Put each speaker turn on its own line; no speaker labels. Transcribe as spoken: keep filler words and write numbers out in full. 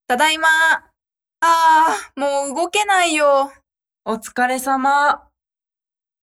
ただいま。ああ、もう動けないよ。
お疲れ様。